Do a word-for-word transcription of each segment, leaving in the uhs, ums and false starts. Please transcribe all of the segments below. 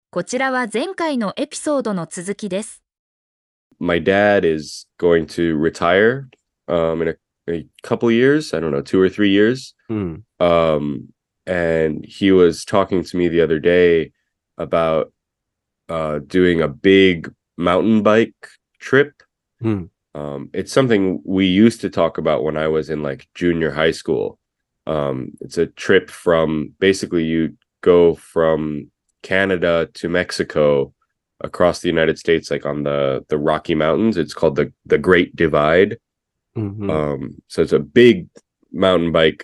こちらは前回のエピソードの続きです。 My dad is going to retire um, in a, a couple years. I don't know, two or three years. うん。 Um, and he was talking to me the other day about uh, doing a big mountain bike trip. うん。 Um, it's something we used to talk about when I was in like junior high school. Um, it's a trip from basically you go from Canada to Mexico across the United States, like on the the Rocky Mountains. It's called the the Great Divide. うんうん Um, so it's a big mountain bike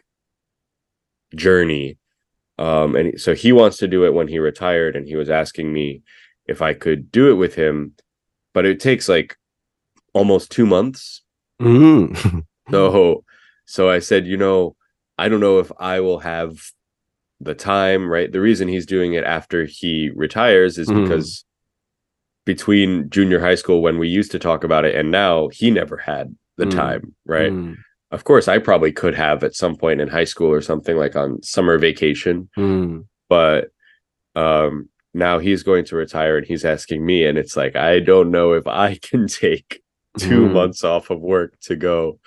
journey. Um, and so he wants to do it when he retired, and he was asking me if I could do it with him, but it takes like almost two months. うん。 So, so I said, you know, I don't know if I will have the time, right? The reason he's doing it after he retires is Mm. because between junior high school when we used to talk about it and now, he never had the Mm. time, right? うん Of course, I probably could have at some point in high school or something, like on summer vacation, うん but um now he's going to retire and he's asking me, and it's like I don't know if I can take two Mm. months off of work to go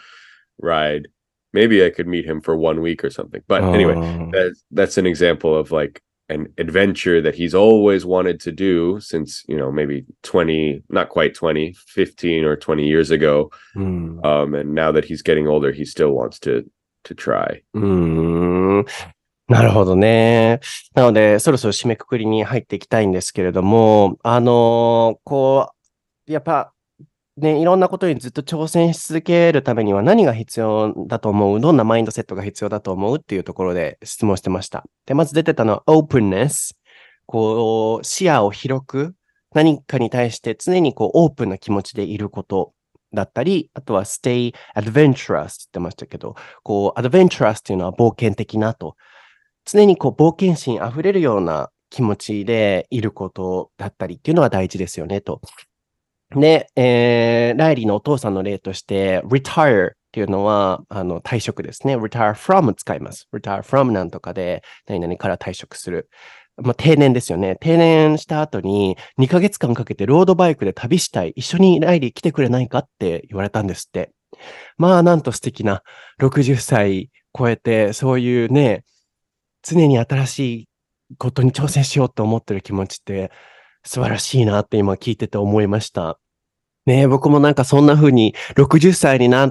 ride. Maybe I could meet him for one week or something. But anyway, あー that's that's an example of like an adventure that he's always wanted to do since, you know, maybe twenty, not quite twenty, fifteen or twenty years ago. うん Um, and now that he's getting older, he still wants to to try. うーん。なるほどね。なので、そろそろ締めくくりに入っていきたいんですけれども、あのーこう、やっぱ、ね、いろんなことにずっと挑戦し続けるためには何が必要だと思う？どんなマインドセットが必要だと思うっていうところで質問してました。で、まず出てたのは openness。こう、視野を広く、何かに対して常にこう、オープンな気持ちでいることだったり、あとは stay adventurous って言ってましたけど、こう、adventurous っていうのは冒険的なと。常にこう、冒険心あふれるような気持ちでいることだったりっていうのが大事ですよねと。で、えーライリーのお父さんの例として、retire っていうのは、あの、退職ですね。retire from 使います。retire from なんとかで、何々から退職する。まあ、定年ですよね。定年した後に、にかげつかんかけてロードバイクで旅したい。一緒にライリー来てくれないかって言われたんですって。まあ、なんと素敵なろくじゅっさい超えて、そういうね、常に新しいことに挑戦しようと思ってる気持ちって素晴らしいなって今聞いてて思いました。ねえ、僕もなんかそんな風にろくじゅっさいになって、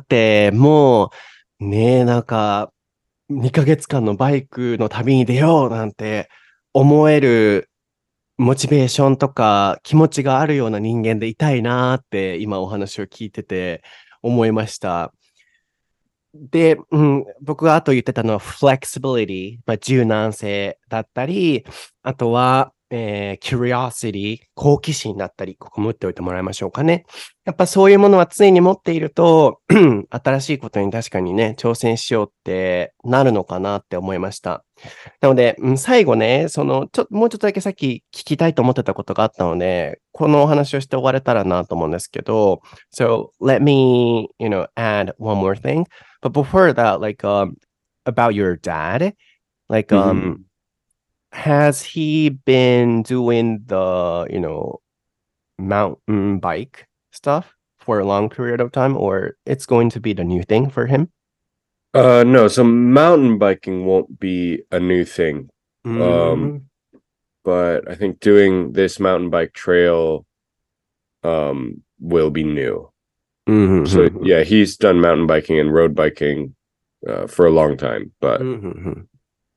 もう、ねえ、なんかにかげつかんのバイクの旅に出ようなんて思えるモチベーションとか気持ちがあるような人間でいたいなーって今お話を聞いてて思いました。で、うん、僕があと言ってたのは flexibility、まあ、柔軟性だったり、あとは、えー curiosity、好奇心だったり、ここも打っておいてもらいましょうかね。やっぱそういうものは常に持っていると、新しいことに確かにね、挑戦しようってなるのかなって思いました。なので、うん、最後ね、その、ちょ、もうちょっとだけさっき聞きたいと思ってたことがあったので、このお話をして終われたらなと思うんですけど、So, let me, you know, add one more thing. But before that, like, um, about your dad, like, um, Mhm. has he been doing the, you know, mountain bike stuff for a long period of time, or it's going to be the new thing for him? Uh, no, so mountain biking won't be a new thing. Mm. But I think doing this mountain bike trail um will be new. Mhm, So mhm. yeah, he's done mountain biking and road biking uh, for a long time, but Mhm.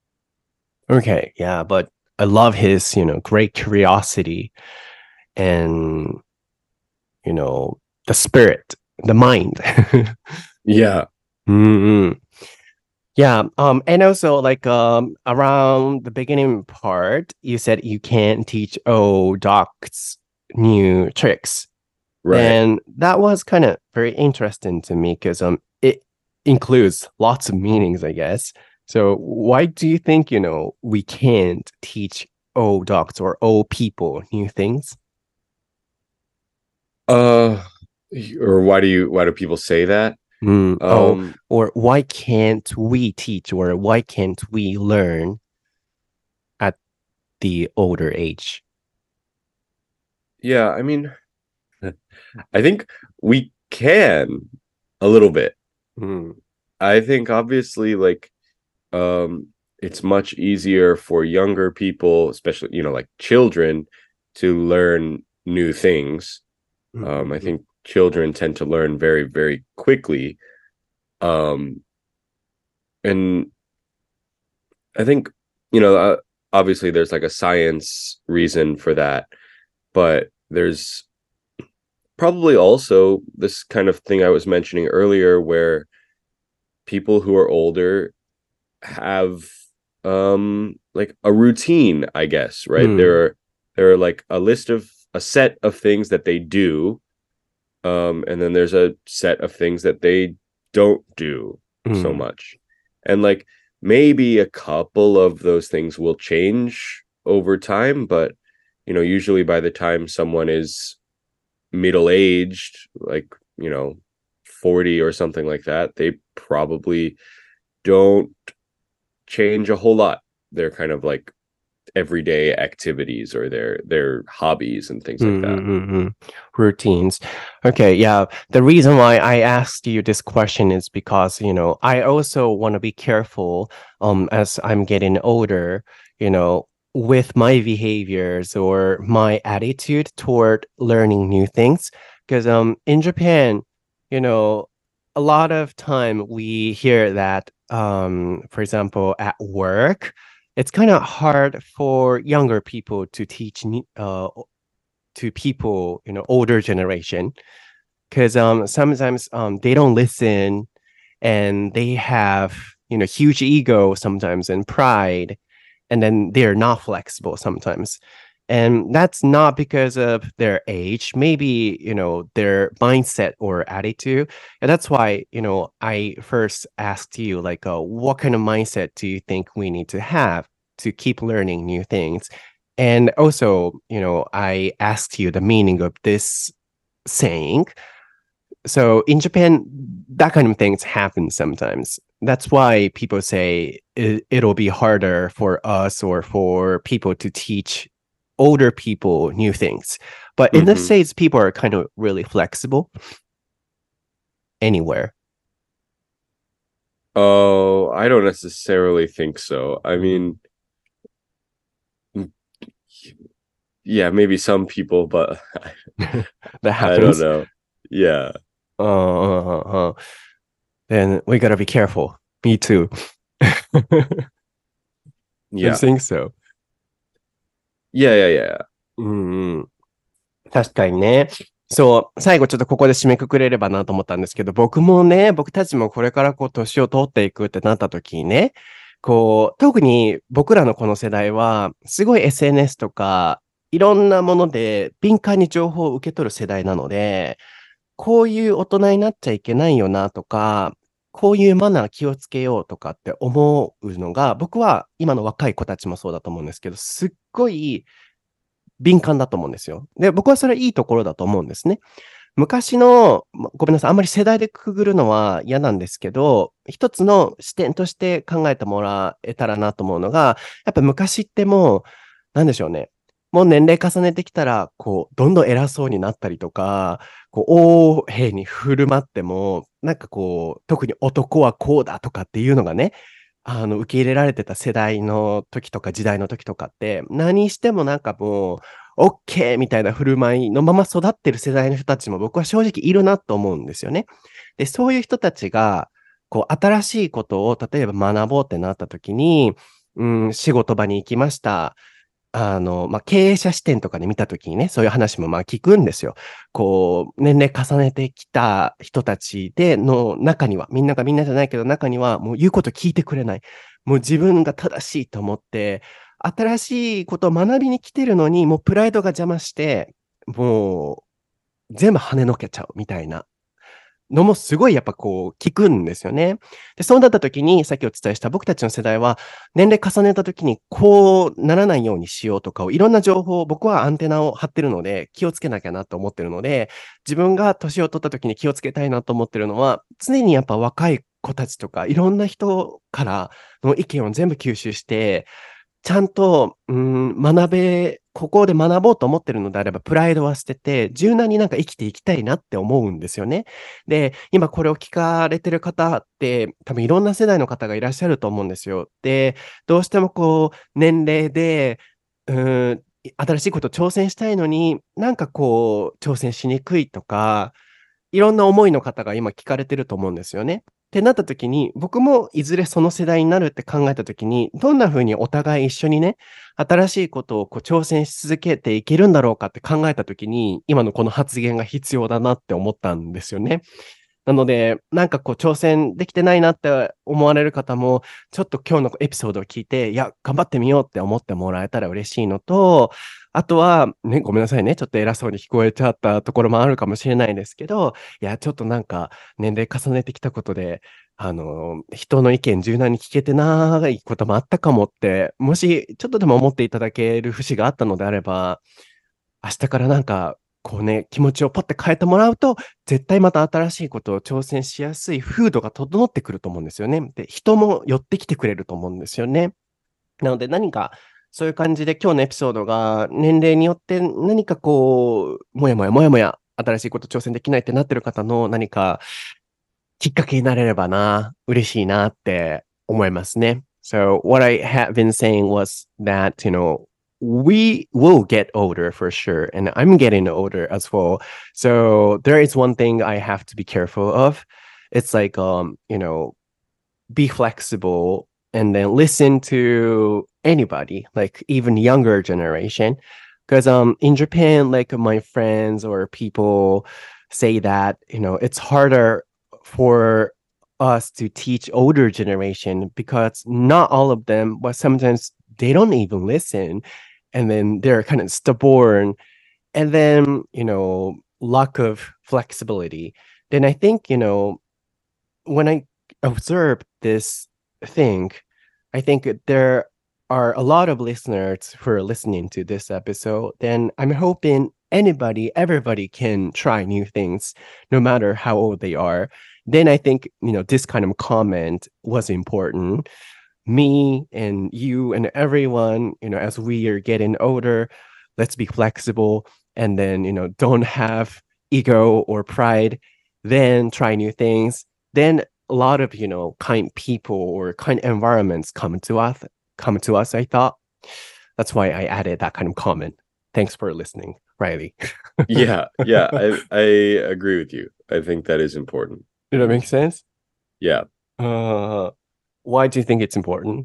Okay, yeah, but I love his, you know, great curiosity and, you know, the spirit, the mind. yeah. Mhm. Yeah, um, and also like um around the beginning part, you said you can't teach old dogs new tricks. Right. And that was kind of very interesting to me because um it includes lots of meanings, I guess. So why do you think, you know, we can't teach old dogs or old people new things? Uh or why do you why do people say that? Mm, oh, Um or why can't we teach or why can't we learn at the older age? Yeah, I mean, I think we can a little bit. うん。 I think obviously like um it's much easier for younger people, especially, you know, like children to learn new things. うんうん Um, I うん think children tend to learn very, very quickly. Um, and I think, you know, uh, obviously there's like a science reason for that, but there's probably also this kind of thing I was mentioning earlier where people who are older have um like a routine, I guess, う right? ん。 There are there are like a list of a set of things that they do, um, and then there's a set of things that they don't do う so ん。 much. And like maybe a couple of those things will change over time, but you know, usually by the time someone is middle aged, like, you know, forty or something like that, they probably don't change a whole lot. They're kind of like everyday activities or their their hobbies and things うん like うん that. うんうん Routines. Okay, yeah. The reason why I asked you this question is because, you know, I also want to be careful um as I'm getting older, you know, with my behaviors or my attitude toward learning new things. Because um in Japan, you know, a lot of time we hear that um for example at work, it's kind of hard for younger people to teach ne- uh to people, you know, older generation, because um sometimes um they don't listen and they have, you know, huge ego sometimes and pride, and then they're not flexible sometimes. And that's not because of their age, maybe, you know, their mindset or attitude. And that's why, you know, I first asked you, like, uh, what kind of mindset do you think we need to have to keep learning new things? And also, you know, I asked you the meaning of this saying. So in Japan, that kind of things happen sometimes. That's why people say it, it'll be harder for us or for people to teach older people new things. But in the Mm-hmm. States, people are kind of really flexible anywhere. Oh, I don't necessarily think so. I Mhm. mean, yeah, maybe some people, but That I don't happens. know. Yeah. Uh, uh, uh, uh. Then we gotta be careful. Me too. I Yeah. think so. Yeah, yeah, yeah. うんうん。確かにね。そう、最後ちょっとここで締めくくれればなと思ったんですけど、僕もね、僕たちもこれからこう年を取っていくってなった時にね、こう、特に僕らのこの世代は、すごい エスエヌエス とか、いろんなもので敏感に情報を受け取る世代なので、こういう大人になっちゃいけないよなとか、こういうマナー気をつけようとかって思うのが、僕は今の若い子たちもそうだと思うんですけど、すっごい敏感だと思うんですよ。で、僕はそれはいいところだと思うんですね。昔の、まごめんなさい、あんまり世代でくぐるのは嫌なんですけど、一つの視点として考えてもらえたらなと思うのが、やっぱ昔ってもう、なんでしょうね。もう年齢重ねてきたら、こう、どんどん偉そうになったりとか、こう、横柄に振る舞っても、なんかこう、特に男はこうだとかっていうのがね、あの、受け入れられてた世代の時とか時代の時とかって、何してもなんかもう、オッケーみたいな振る舞いのまま育ってる世代の人たちも僕は正直いるなと思うんですよね。で、そういう人たちが、こう、新しいことを例えば学ぼうってなった時に、うん、仕事場に行きました。あの、まあ、経営者視点とかで見た時にね、そういう話もまあ聞くんですよ。こう、年齢重ねてきた人たちでの中には、みんながみんなじゃないけど中にはもう言うこと聞いてくれない。もう自分が正しいと思って、新しいことを学びに来てるのに、もうプライドが邪魔して、もう全部跳ねのけちゃうみたいなのもすごいやっぱこう聞くんですよね。で、そうなった時に、さっきお伝えした僕たちの世代は、年齢重ねた時にこうならないようにしようとかをいろんな情報を僕はアンテナを張ってるので気をつけなきゃなと思ってるので、自分が年を取った時に気をつけたいなと思ってるのは、常にやっぱ若い子たちとかいろんな人からの意見を全部吸収して、ちゃんと、うん、学べここで学ぼうと思ってるのであれば、プライドは捨てて、柔軟になんか生きていきたいなって思うんですよね。で、今これを聞かれてる方って、多分いろんな世代の方がいらっしゃると思うんですよ。で、どうしてもこう、年齢で、うーん、新しいこと挑戦したいのに、なんかこう、挑戦しにくいとか、いろんな思いの方が今聞かれてると思うんですよね。ってなった時に、僕もいずれその世代になるって考えた時に、どんな風にお互い一緒にね、新しいことをこう挑戦し続けていけるんだろうかって考えた時に、今のこの発言が必要だなって思ったんですよね。なので、なんかこう挑戦できてないなって思われる方も、ちょっと今日のエピソードを聞いて、いや、頑張ってみようって思ってもらえたら嬉しいのと、あとは、ね、ごめんなさいね。ちょっと偉そうに聞こえちゃったところもあるかもしれないですけど、いや、ちょっとなんか年齢重ねてきたことで、あの、人の意見柔軟に聞けてないこともあったかもって、もしちょっとでも思っていただける節があったのであれば、明日からなんか、こうね、気持ちをパッて変えてもらうと、絶対また新しいことを挑戦しやすい風土が整ってくると思うんですよね。で、人も寄ってきてくれると思うんですよね。なので何か、そういう感じで今日のエピソードが年齢によって何かこう、もやもやもやもや、新しいこと挑戦できないってなってる方の何かきっかけになれればな、嬉しいなって思いますね。So what I have been saying was that, you know, we will get older for sure, and I'm getting older as well. So there is one thing I have to be careful of. It's like, um, you know, be flexible and then listen to anybody, like even younger generation. Because um in Japan, like my friends or people say that, you know, it's harder for us to teach older generation because not all of them, but sometimes they don't even listen. And then they're kind of stubborn. And then, you know, lack of flexibility. Then I think, you know, when I observe this thing, I think there are a lot of listeners who are listening to this episode. Then I'm hoping anybody, everybody can try new things, no matter how old they are. Then I think, you know, this kind of comment was important. Me and you and everyone, you know, as we are getting older, let's be flexible and then, you know, don't have ego or pride. Then try new things. Then a lot of, you know, kind people or kind environments come to us, come to us, I thought. That's why I added that kind of comment. Thanks for listening, Riley. Yeah, yeah, I I agree with you. I think that is important. Did that make sense? Yeah. Uh, why do you think it's important?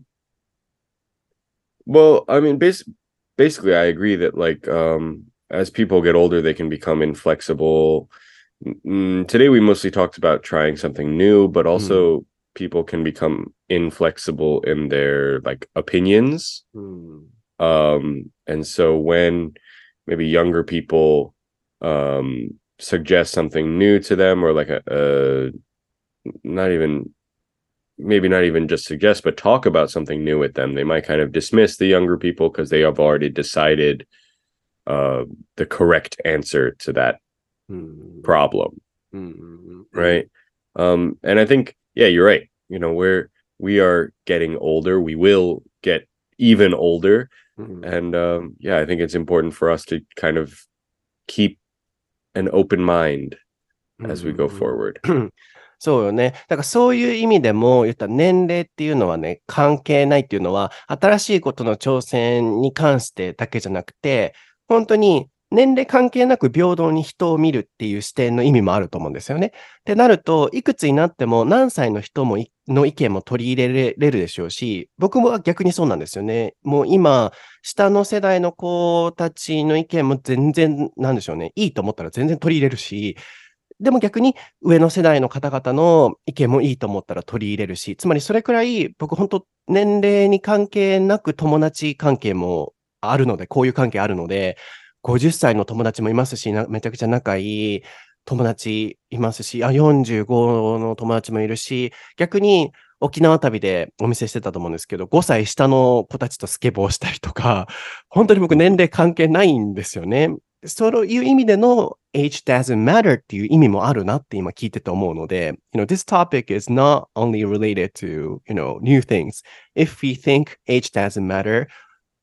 Well, I mean, bas- basically, I agree that like um, as people get older, they can become inflexible. Mm, today, we mostly talked about trying something new, but also mm. people can become inflexible in their like opinions. Mm. Um, and so when maybe younger people um, suggest something new to them, or like a, a not even maybe not even just suggest, but talk about something new with them, they might kind of dismiss the younger people because they have already decided uh, the correct answer to that mm. problem. Mm-hmm. Right. Um, and I think, yeah, you're right. You know, we're, we are getting older. We will get even older. Mm-hmm. And um, yeah, I think it's important for us to kind of keep an open mind as we go forward. そうよね。だからそういう意味でも言ったら年齢っていうのはね、関係ないっていうのは、新しいことの挑戦に関してだけじゃなくて、本当に年齢関係なく平等に人を見るっていう視点の意味もあると思うんですよね。ってなると、いくつになっても何歳の人もの意見も取り入れれるでしょうし、僕も逆にそうなんですよね。もう今、下の世代の子たちの意見も全然、なんでしょうね。いいと思ったら全然取り入れるし、でも逆に上の世代の方々の意見もいいと思ったら取り入れるし、つまりそれくらい僕本当年齢に関係なく友達関係もあるので、こういう関係あるので、ごじゅっさいの友達もいますし、めちゃくちゃ仲いい友達いますし、あ、よんじゅうごの友達もいるし、逆に沖縄旅でお見せしてたと思うんですけど、ごさい下の子たちとスケボーしたりとか、本当に僕年齢関係ないんですよね。そういう意味での age doesn't matter っていう意味もあるなって今聞いてて思うので、you know, this topic is not only related to, you know, new things. If we think age doesn't matter,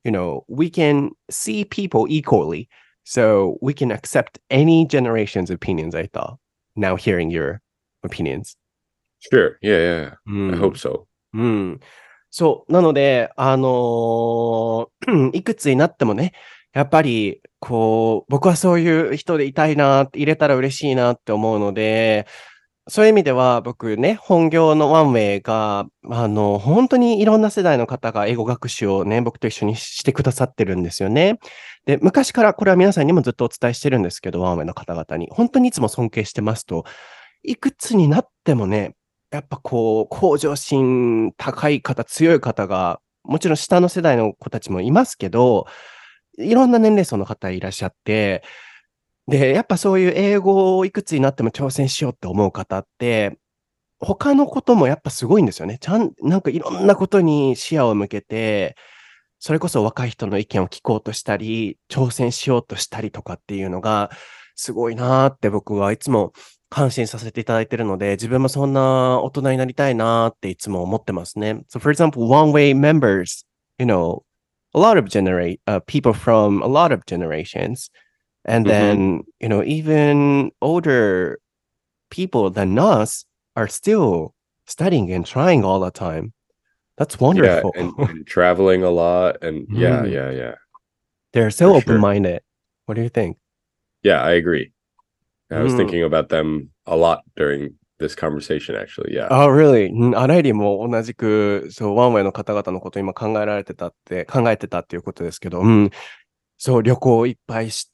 you know, we can see people equally. So we can accept any generation's opinions, I thought. Now hearing your opinions. Sure. Yeah, yeah. Mm. I hope so. うん。そう。なので、あのーいくつになってもね、やっぱり、こう、僕はそういう人でいたいな、入れたら嬉しいなって思うので、そういう意味では僕ね、本業のワンウェイが、あの、本当にいろんな世代の方が英語学習をね、僕と一緒にしてくださってるんですよね。で、昔からこれは皆さんにもずっとお伝えしてるんですけど、ワンウェイの方々に。本当にいつも尊敬してますと、いくつになってもね、やっぱこう、向上心高い方、強い方が、もちろん下の世代の子たちもいますけど、いろんな年齢層の方いらっしゃって、で、やっぱそういう英語をいくつになっても挑戦しようって思う方って、他のこともやっぱすごいんですよね。ちゃん、なんかいろんなことに視野を向けて、それこそ若い人の意見を聞こうとしたり、挑戦しようとしたりとかっていうのが、すごいなーって僕はいつも感心させていただいているので、自分もそんな大人になりたいなーっていつも思ってますね。So for example, one-way members, you know, a lot of generate, uh, people from a lot of generations. And then, mm-hmm. you know, even older people than us are still studying and trying all the time. That's wonderful. Yeah, and, and traveling a lot. And yeah, Mm. yeah, yeah. They're so For sure. open-minded. What do you think? Yeah, I agree. I was Mm. thinking about them a lot during this conversation, actually. Yeah. Oh, really? うんあらゆりも同じく、そう、ワンウェイの方々のことを今考えられてたって、考えてたっていうことですけど、うん。そう、旅行をいっぱいして、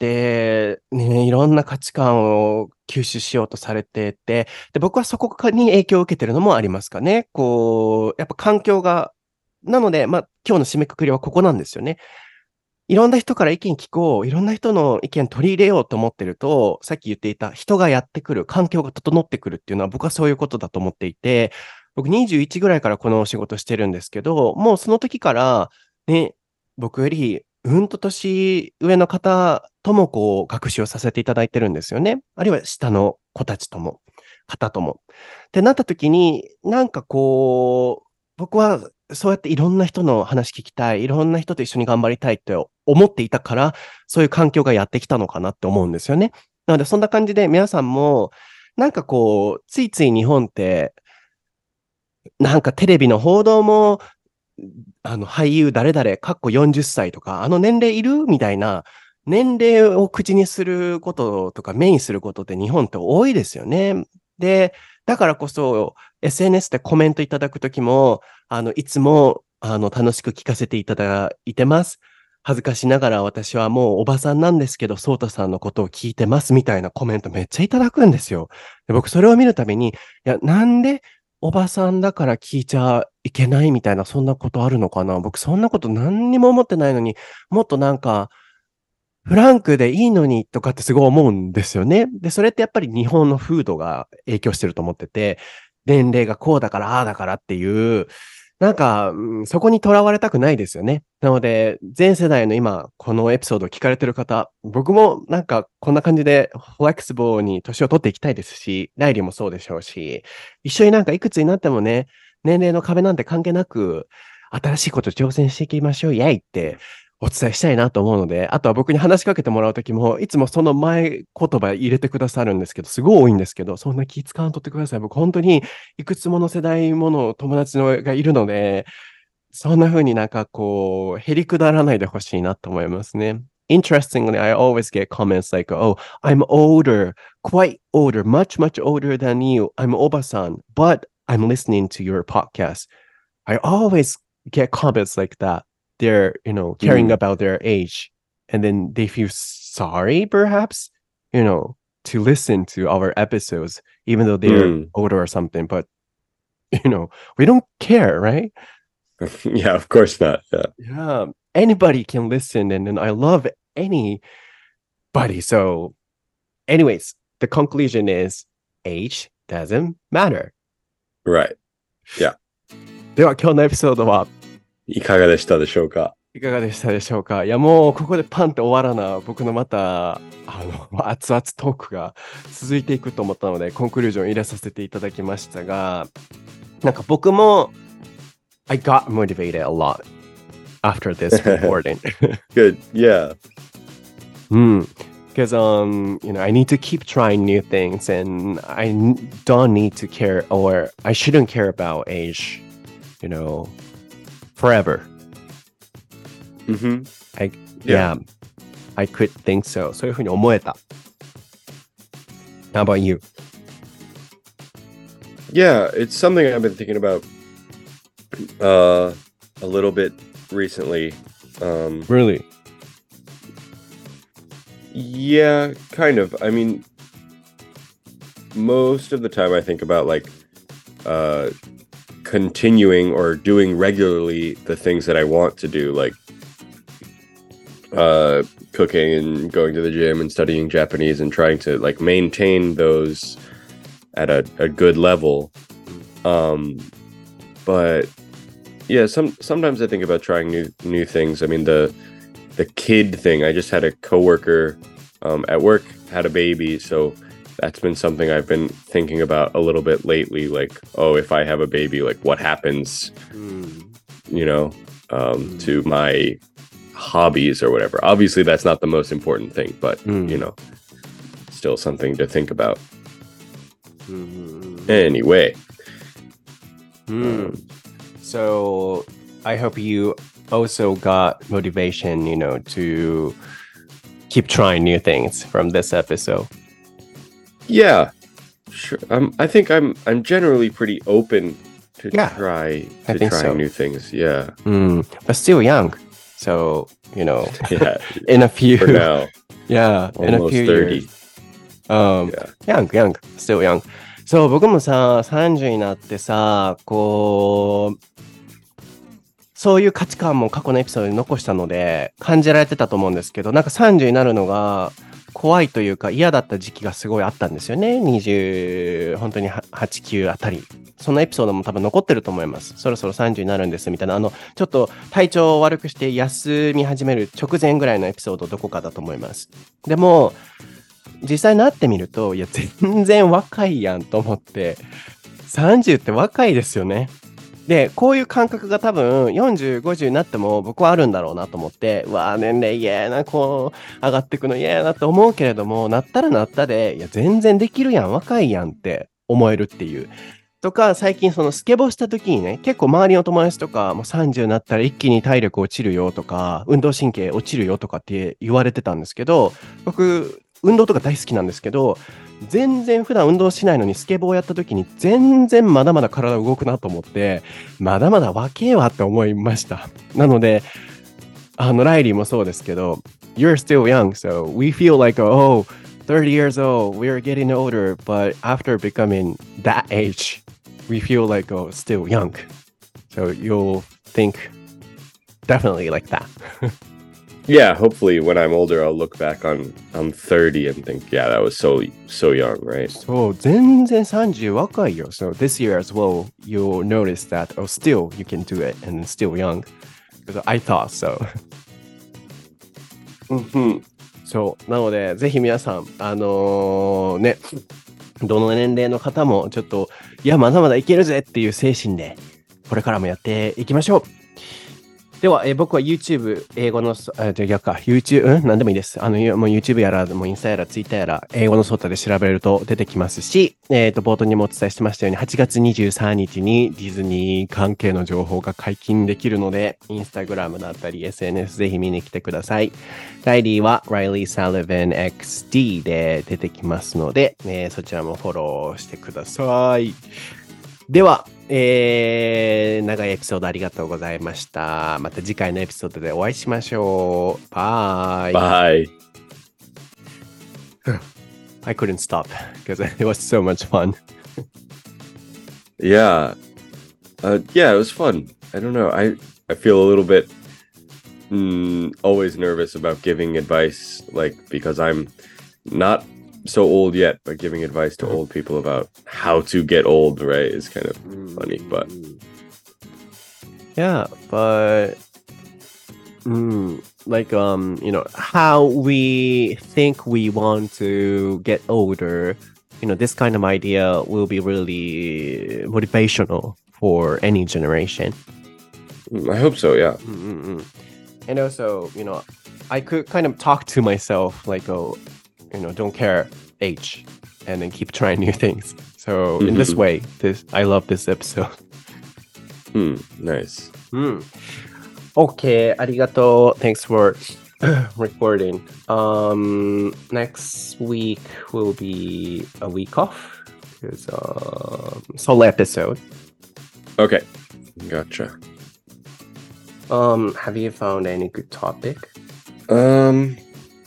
ね、いろんな価値観を吸収しようとされてて、で、僕はそこに影響を受けてるのもありますかね。こう、やっぱ環境が、なので、まあ、今日の締めくくりはここなんですよね。いろんな人から意見聞こう、いろんな人の意見取り入れようと思ってると、さっき言っていた人がやってくる、環境が整ってくるっていうのは僕はそういうことだと思っていて、僕にじゅういちぐらいからこのお仕事してるんですけど、もうその時からね、僕よりうんと年上の方ともこう学習をさせていただいてるんですよね。あるいは下の子たちとも、方とも。ってなった時に、なんかこう、僕はそうやっていろんな人の話聞きたい、いろんな人と一緒に頑張りたいって思っていたから、そういう環境がやってきたのかなって思うんですよね。なのでそんな感じで皆さんも、なんかこう、ついつい日本って、なんかテレビの報道も、あの俳優誰々、かっこよんじゅっさいとか、あの年齢いるみたいな、年齢を口にすることとか、目にすることって日本って多いですよね。で、だからこそ、エスエヌエス でコメントいただくときも、あの、いつも、あの、楽しく聞かせていただいてます。恥ずかしながら私はもうおばさんなんですけど、ソータさんのことを聞いてますみたいなコメントめっちゃいただくんですよ。で僕それを見るたびに、いや、なんでおばさんだから聞いちゃいけないみたいな、そんなことあるのかな？僕そんなこと何にも思ってないのに、もっとなんか、フランクでいいのにとかってすごい思うんですよね。で、それってやっぱり日本の風土が影響してると思ってて、年齢がこうだから、ああだからっていう、なんか、うん、そこにとらわれたくないですよね。なので、全世代の今、このエピソードを聞かれてる方、僕もなんかこんな感じでフレキシブルに年を取っていきたいですし、ライリーもそうでしょうし、一緒になんかいくつになってもね、年齢の壁なんて関係なく、新しいこと挑戦していきましょう、イェイってお伝えしたいなと思うので、あとは僕に話しかけてもらうときも、いつもその前言葉入れてくださるんですけど、すごい多いんですけど、そんな気使わんとってください。僕本当にいくつもの世代もの友達のがいるので、そんな風になんかこう、へりくだらないでほしいなと思いますね。Interestingly, I always get comments like, oh, I'm older, quite older, much, much older than you. I'm おばさん, but I'm listening to your podcast. I always get comments like that.They're, you know, caring mm. about their age. And then they feel sorry, perhaps, you know, to listen to our episodes, even though they're mm. older or something. But, you know, we don't care, right? Yeah, of course not. Yeah. Yeah. Anybody can listen. And then I love anybody. So, anyways, the conclusion is age doesn't matter. Right. Yeah. では、今日のエピソードはいかがでしたでしょうか？ いかがでしたでしょうか？いや、もうここでパンって終わらな、僕のまた、あの、熱々トークが続いていくと思ったので、コンクルージョン入れさせていただきましたが、なんか僕も、I got motivated a lot after this recording. Good. Yeah. Mm. Because um, you know, I need to keep trying new things, and I n- don't need to care, or I shouldn't care about age, you know, forever. Mm-hmm. I yeah, I could think so. そういうふうに思えた。How about you? Yeah, it's something I've been thinking about uh, a little bit recently. Um, Really? Yeah, kind of. I mean, most of the time I think about like uh, continuing or doing regularly the things that I want to do, like uh, cooking and going to the gym and studying Japanese and trying to like maintain those at a, a good level. Um, but yeah, some sometimes I think about trying new new things. I mean, the the kid thing. I just had a coworker um, at work had a baby, so that's been something I've been thinking about a little bit lately. Like, oh, if I have a baby, like what happens, Mm. you know, um, to my hobbies or whatever. Obviously, that's not the most important thing, but Mm. you know, still something to think about. Mm. Anyway, Mm. So I hope you also got motivation, you know, to keep trying new things from this episode. yeah, sure. Um, I think I'm I'm generally pretty open to Yeah, try I to think trying so. new things. Yeah, Mm. But still young. So, you know, yeah. in a few, For now, yeah, in a almost few thirty. years. Um, Yeah. young, young, still young. そう、僕もさ、さんじゅうになってさ、こう、そういう価値観も過去のエピソードに残したので、感じられてたと思うんですけど、なんかさんじゅうになるのが怖いというか嫌だった時期がすごいあったんですよね。にじゅう、本当にはち、きゅうあたり。そのエピソードも多分残ってると思います。そろそろさんじゅうになるんですみたいな、あの、ちょっと体調を悪くして休み始める直前ぐらいのエピソードどこかだと思います。でも、実際なってみると、いや、全然若いやんと思って、さんじゅうって若いですよね。で、こういう感覚が多分よんじゅう、ごじゅうになっても僕はあるんだろうなと思って、うわぁ、年齢嫌やな、こう、上がっていくの嫌やなと思うけれども、なったらなったで、いや、全然できるやん、若いやんって思えるっていう。とか、最近そのスケボーした時にね、結構周りの友達とか、もうさんじゅうになったら一気に体力落ちるよとか、運動神経落ちるよとかって言われてたんですけど、僕、運動とか大好きなんですけど、全然普段運動しないのにスケボーやった時に全然まだまだ体動くなと思って、まだまだ若えわって思いました。なので、あの、ライリーもそうですけど、You're still young, so we feel like, oh, thirty years old, we're getting older, but after becoming that age, we feel like, oh, still young. So you'll think definitely like that. Yeah, hopefully when I'm older, I'll look back on on thirty and think, yeah, that was so so young, right? そう、全然さんじゅう若いよ。So this year as well, you'll notice that, oh, still you can do it and still young. Because I thought so. そう。なので、ぜひ皆さん、あのーね、どの年齢の方もちょっと、いや、まだまだいけるぜっていう精神で、これからもやっていきましょう。では、えー僕は YouTube、英語のそ、あ、じゃあ逆か、YouTube、うん、なんでもいいです。あの、もう YouTube やら、もうインスタやら、Twitter やら、英語のソータで調べると出てきますし、えっと、冒頭にもお伝えしてましたように、はちがつにじゅうさんにちにディズニー関係の情報が解禁できるので、Instagram だったり エスエヌエス ぜひ見に来てください。ライリーは Riley Sullivan エックスディー で出てきますので、えーそちらもフォローしてください。では、えー、長いエピソードありがとうございました。また次回のエピソードでお会いしましょう。バイ。 Bye. I couldn't stop because it was so much fun. Yeah. Uh, yeah, it was fun. I don't know. I, I feel a little bit mm, always nervous about giving advice, like, because I'm not so old yet, but giving advice to old people about how to get old, right, is kind of funny, but Yeah, but mm, like um, you know, how we think we want to get older, you know, this kind of idea will be really motivational for any generation. Mm, I hope so. Yeah. Mm-mm-mm. And also, you know, I could kind of talk to myself like, oh, you know, don't care H, and then keep trying new things. So in this Mhm. way, this I love this episode. Hmm. Nice. Mm. Okay, ありがとう. Thanks for recording. Um, next week will be a week off because um solo episode. Okay. Gotcha. Um, have you found any good topic? Um.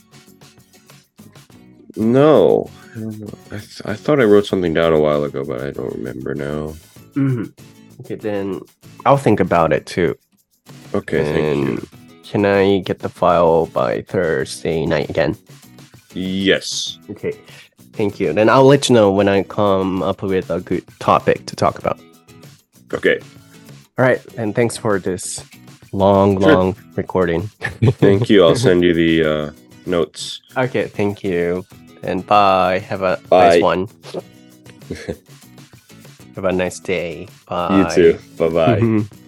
No. I, don't know. I, th- I thought I wrote something down a while ago, but I don't remember now. Mm-hmm. Okay, then I'll think about it too. Okay. Thank you. And can I get the file by Thursday night again? Yes. Okay, thank you. Then I'll let you know when I come up with a good topic to talk about. Okay. All right, and thanks for this long, Sure. long recording. Thank you. I'll send you the uh, notes. Okay, thank you. And bye. Have a Bye. nice one. Have a nice day. Bye. You too. Bye bye.